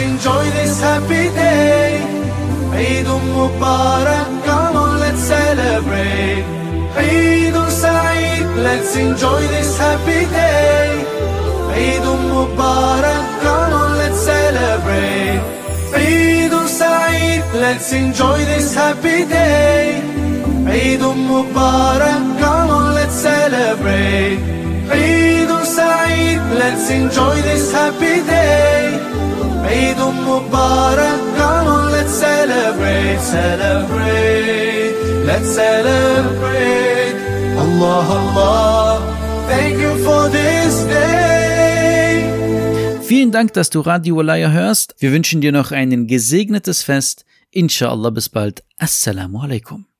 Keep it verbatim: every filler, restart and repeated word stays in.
enjoy this happy day. Eid Mubarak, come on, let's celebrate. Eid Saeed, let's enjoy this happy day. Eid Mubarak, come on, let's celebrate. Eid Saeed, let's enjoy this happy day. Eid Mubarak, come on, let's celebrate. Eid Saeed, let's enjoy this happy day. Eid Mubarak, come on, let's celebrate, celebrate, let's celebrate. Allah, Allah, thank you for this day. Vielen Dank, dass du Radio Walaya hörst. Wir wünschen dir noch ein gesegnetes Fest. Inshallah, bis bald. Assalamu alaikum.